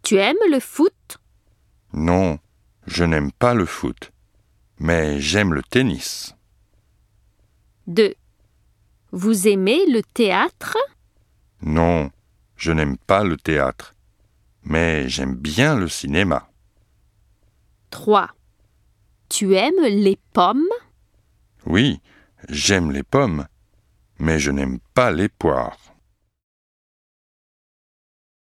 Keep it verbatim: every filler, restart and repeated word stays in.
Tu aimes le foot? Non, je n'aime pas le foot, mais j'aime le tennis. deux. Vous aimez le théâtre? Non, je n'aime pas le théâtre, mais j'aime bien le cinéma. trois. Tu aimes les pommes? Oui, j'aime les pommes, mais je n'aime pas les poires.